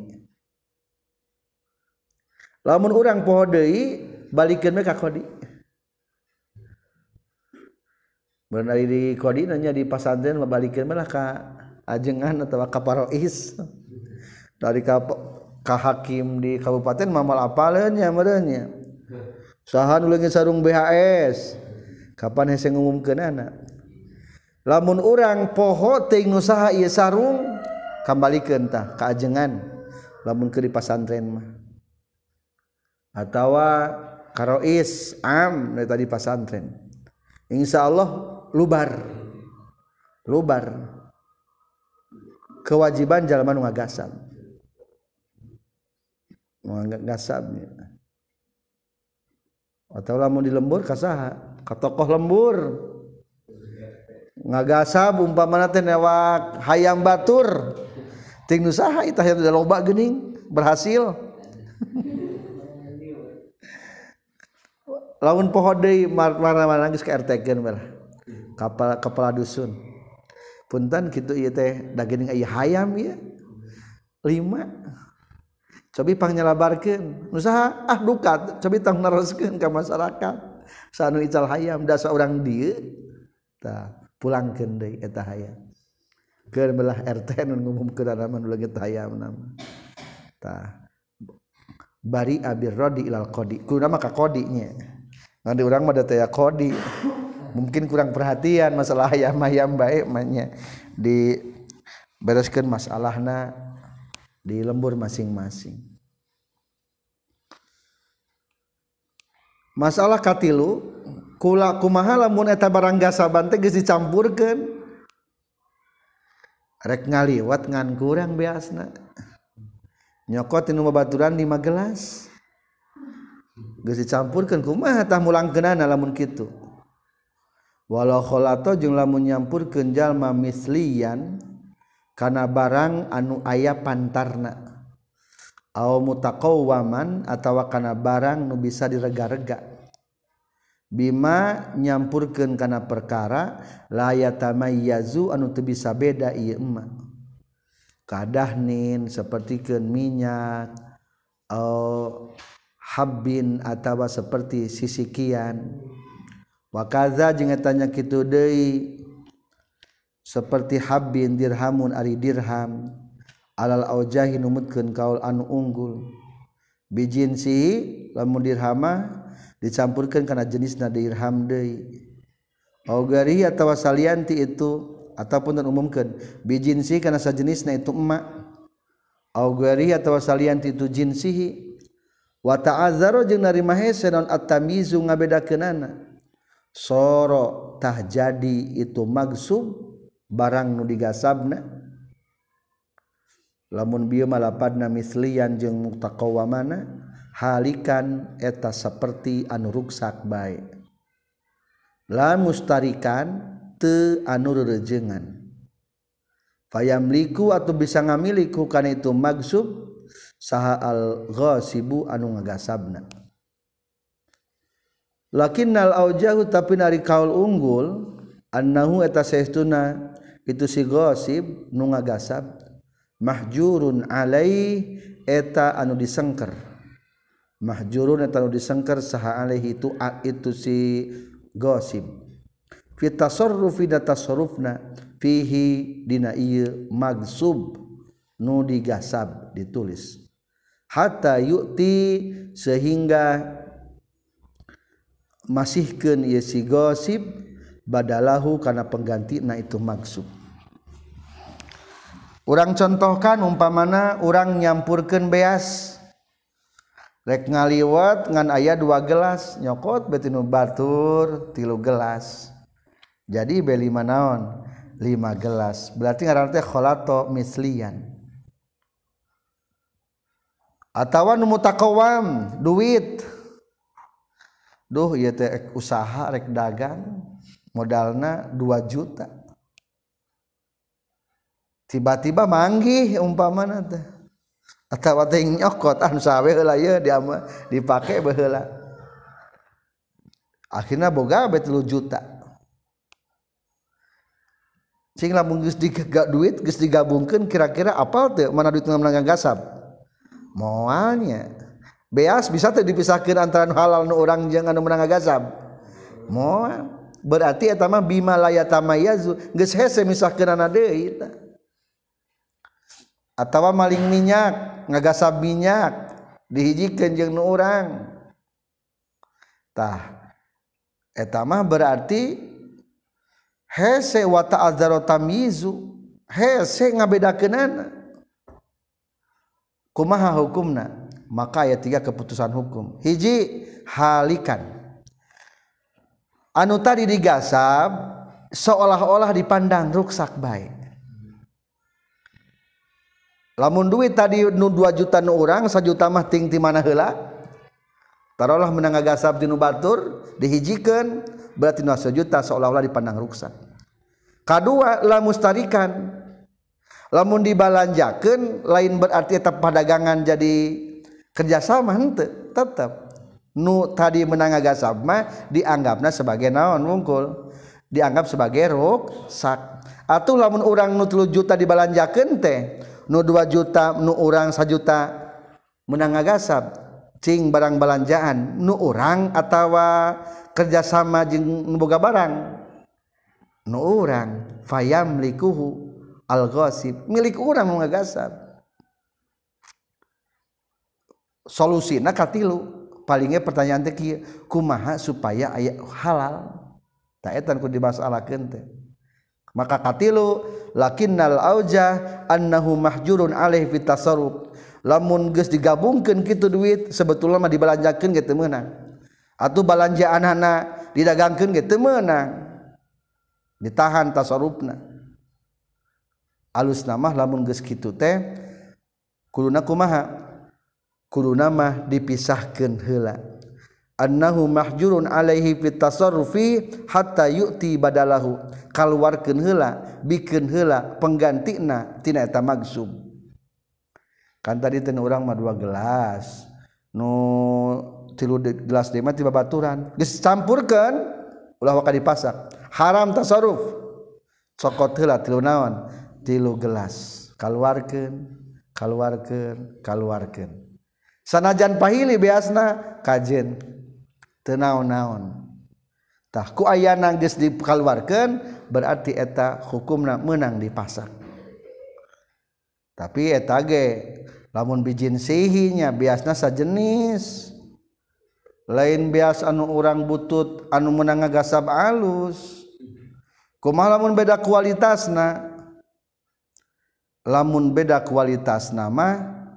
Lamun urang poho deui balikeun we ka qadi. Benar di qadi nya di pasantren balikeun mah ka ajengan atawa ka parois. Dari ka hakim di kabupaten mamal apaleun nya meureun nya. Saha nu leungit sarung BHS. Kapan hese ngumumkeunana? Lamun urang poho teuing nu saha ieu sarung kambalikeun tah ka ajengan lamun keur di pasantren mah. Atawa karois am dari tadi pasantren. Insyaallah lubar kewajiban jalma nu ngagasab ngagasabnya atau lamun di lembur ka saha ka tokoh lembur ngagasab umpamana teh newak hayam batur ting nu saha itah aya loba geuning berhasil lamun poho deui mana-mana geus ka RT-keun bae kepala dusun punten kitu ieu teh da geuning aya hayam ieu 5 cobi pangnyalabarkeun nu saha duka cobi tong neroskeun ka masyarakat sanu ical hayam da saurang dieu tah pulangkeun deui eta hayam keur belah RT nu ngumumkeun nama nu leungit hayam nama tah bari abir rodi ilal qodi ku nama ka qodi nya ngan di urang mah da teh qodi mungkin kurang perhatian masalah hayam-hayam bae manya di bereskeun masalahna di lembur masing-masing. Masalah katilu kula kumaha lamun eta barang gasaban teh geus dicampurkeun rek ngaliwat ngan kurang beasna nyokot tinu babaturan 5 gelas geus dicampurkeun kumaha tah mulangkeunana lamun kitu walau kholato jeung lamun nyampurkeun jalma mislian kana barang anu aya pantarna au mutaqawwaman atawa kana barang nu bisa direga-rega bima nyampurkeun kana perkara la yatamayyazu anu teu bisa beda ieu mah kadahnin sapertikeun minyak au habbin atawa seperti sisikian wa kaza jeung eta nya kitu deui seperti habbin dirhamun ari dirham alal aujahi numutkeun kaul anu unggul bijinsi lamun dirhama dicampurkeun kana jenisna dirham deui augari atawa salianti itu ataupun dan umumkeun bijinsi kana sajenisna itu emak augari atawa salianti itu jinsihi wa ta'azzaro jeung narima hese naon at-tamyizu ngabedakeunana soro tah jadi itu magsub barang nu digasabna lamun bieu malapadna mislian jeung mutaqawwamana halikan eta saperti anu ruksak bae la mustarikan teu anu reurejeungan fayamliku atau bisa ngamiliku kana itu magsub saha al-ghasibu anu ngagasabna lakinnal aujahu tapi nari kaul unggul annahu eta saestuna itu si ghasib nu ngagasab mahjurun alai eta anu disengker mahjurun eta anu disengker saha alaihi itu si ghasib fi tasarrufi da tasarrufna fihi dina ieu magsub nu digasab ditulis hatta yu'ti sehingga masihkeun ieu si ghasib badalahu kana penggantina itu magsub urang contohkan umpamana urang nyampurkeun beas rek ngaliwat ngan aya 2 gelas nyokot beuti nu batur 3 gelas jadi be 5 naon 5 gelas berarti ngaranna teh kholato mislian atawa nu mutaqawwam duit duh ieu teh usaha rek dagang modalna 2 juta tiba-tiba manggih umpamana teh atawa teh nyokot anu sawe heula ieu dipake baheula akhirna boga bae 3 juta cing lamun geus duit geus digabungkeun kira-kira apal teu mana duit menang gasab moalnya beas bisa teh dipisahkeun antara nu halal nu urang jeung anu menang gasab moal berarti eta mah bima la yatamayyazu geus hese misahkeunana deui eta atawa maling minyak ngagasab minyak dihijikeun jeung nu urang tah eta mah berarti hese wa ta'azzaro tamyizu hese ngabedakeunana kumaha hukumna maka aya 3 keputusan hukum hiji halikan anu tadi digasab seolah-olah dipandang ruksak bae lamun duit tadi nu 2 juta nu urang 1 juta mah ting ti mana heula taruhlah menang ngagasab dinu batur dihijikeun berarti 1 juta seolah-olah dipandang ruksak. Kadua la mustarikan, lamun dibalanjakeun lain berarti eta padagangan jadi kerjasama henteu, tetep nu tadi menang ngagasab mah dianggapna sebagai naon wungkul, dianggap sebagai ruksak. Atuh lamun urang nu 3 juta dibalanjakeun teh nu 2 juta nu urang 1 juta menang ngagasab cing barang balanjaan nu urang atawa kerjasama jeung nu boga barang nu urang fayamlikuhu al-ghasib milik urang nu ngagasab. Solusina katilu palingnya pertanyaan teh kieu kumaha supaya aya halal ta eta ku dimasalakeun teh. Maka katilu lakinnal auja annahu mahjurun alaihi fit tasarruf, lamun geus digabungkeun kitu duit sebetulna mah dibalanjakeun ge teu meunang atuh balanjaanna didagangkeun ge teu meunang ditahan tasarrufna. Alusna mah lamun geus kitu teh kuduna kumaha, kuduna mah dipisahkeun heula annahu mahjurun alaihi fit tasarrufi hatta yu'ti badalahu, kaluarkeun heula bikeun heula penggantina tina eta magsub. Kan tadi teh urang mah 2 gelas nu 3 gelas deui mah ti babaturan geus campurkeun ulah waka dipasak haram tasarruf cokot heula 3 naon 3 gelas kaluarkeun sanajan pahili beasna kajen teu naon-naon tah ku ayana geus dikaluarkeun berarti eta hukumna meunang dipasak. Tapi eta ge lamun bijin sihinya biasna sajenis lain bias anu urang butut anu meunang ngagasab alus. Kumaha lamun beda kualitasna, lamun beda kualitasna mah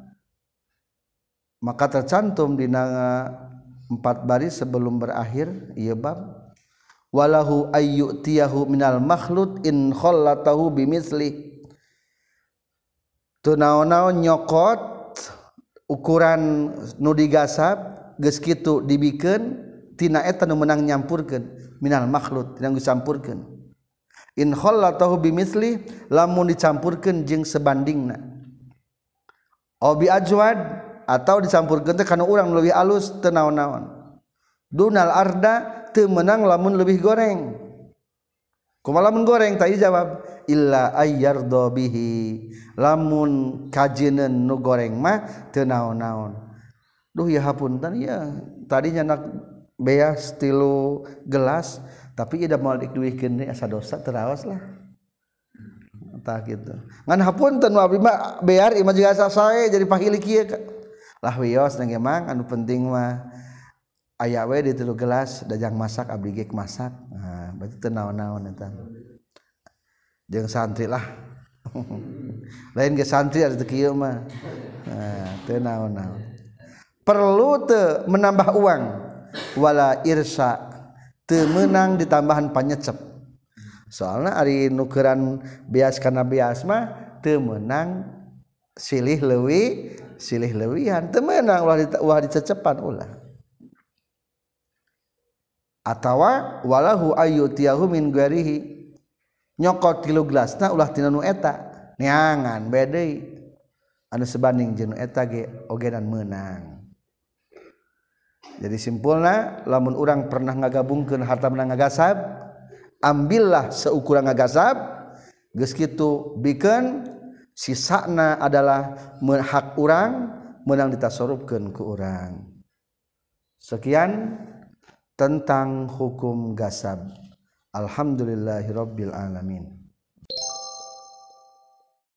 maka tercantum dina 4 baris sebelum berakhir ieu bab walahu ayyutiyahu minal makhlut in khallatahu bimithli, teu naon-naon nyokot ukuran nu digasab geus kitu dibikeun tina eta nu meunang nyampurkeun minal makhlut tina geus campurkeun in khallatahu bimithli lamun dicampurkeun jeung sebandingna au bi ajwad atau dicampurkeun teh kana urang leuwih alus teu naon-naon dunal arda teu meunang lamun leuwih goreng. Kumaha lamun goreng tadi jawab illa ayyardo bihi, lamun kajeuneun nu goreng mah teu naon-naon. Duh ya hapunten ya tadinya nak beas 3 gelas tapi ida moal diduikeun deui asa dosa teraos lah tah kitu ngan hapunten nu abdi mah bear imah juga asa sae jadi pahili kieu lah wios nang emang anu penting mah aya we di 3 gelas dajang masak abdi ge masak. Nah berarti teu naon-naon eta jeung santri lah lain ge santri atuh kieu mah teu naon-naon. Perlu teu menambah uang wala irsa teu meunang ditambahan panyecep soalna ari nukeran beas kana beas mah teu meunang silih leuwihan teu meunang ulah dicecepan ulah atawa walahu ayyutiyahu min ghairihi nyokot 3 gelasna ulah tina nu eta neangan bae deui anu sebanding jeung nu eta ge ogenan meunang. Jadi simpulna lamun urang pernah ngagabungkeun harta menang ngagasab ambillah seukuran ngagasab geus kitu bikeun sisana adalah hak urang meunang ditasarrufkeun ku urang. Sekian tentang hukum gasab. Alhamdulillahirabbil alamin.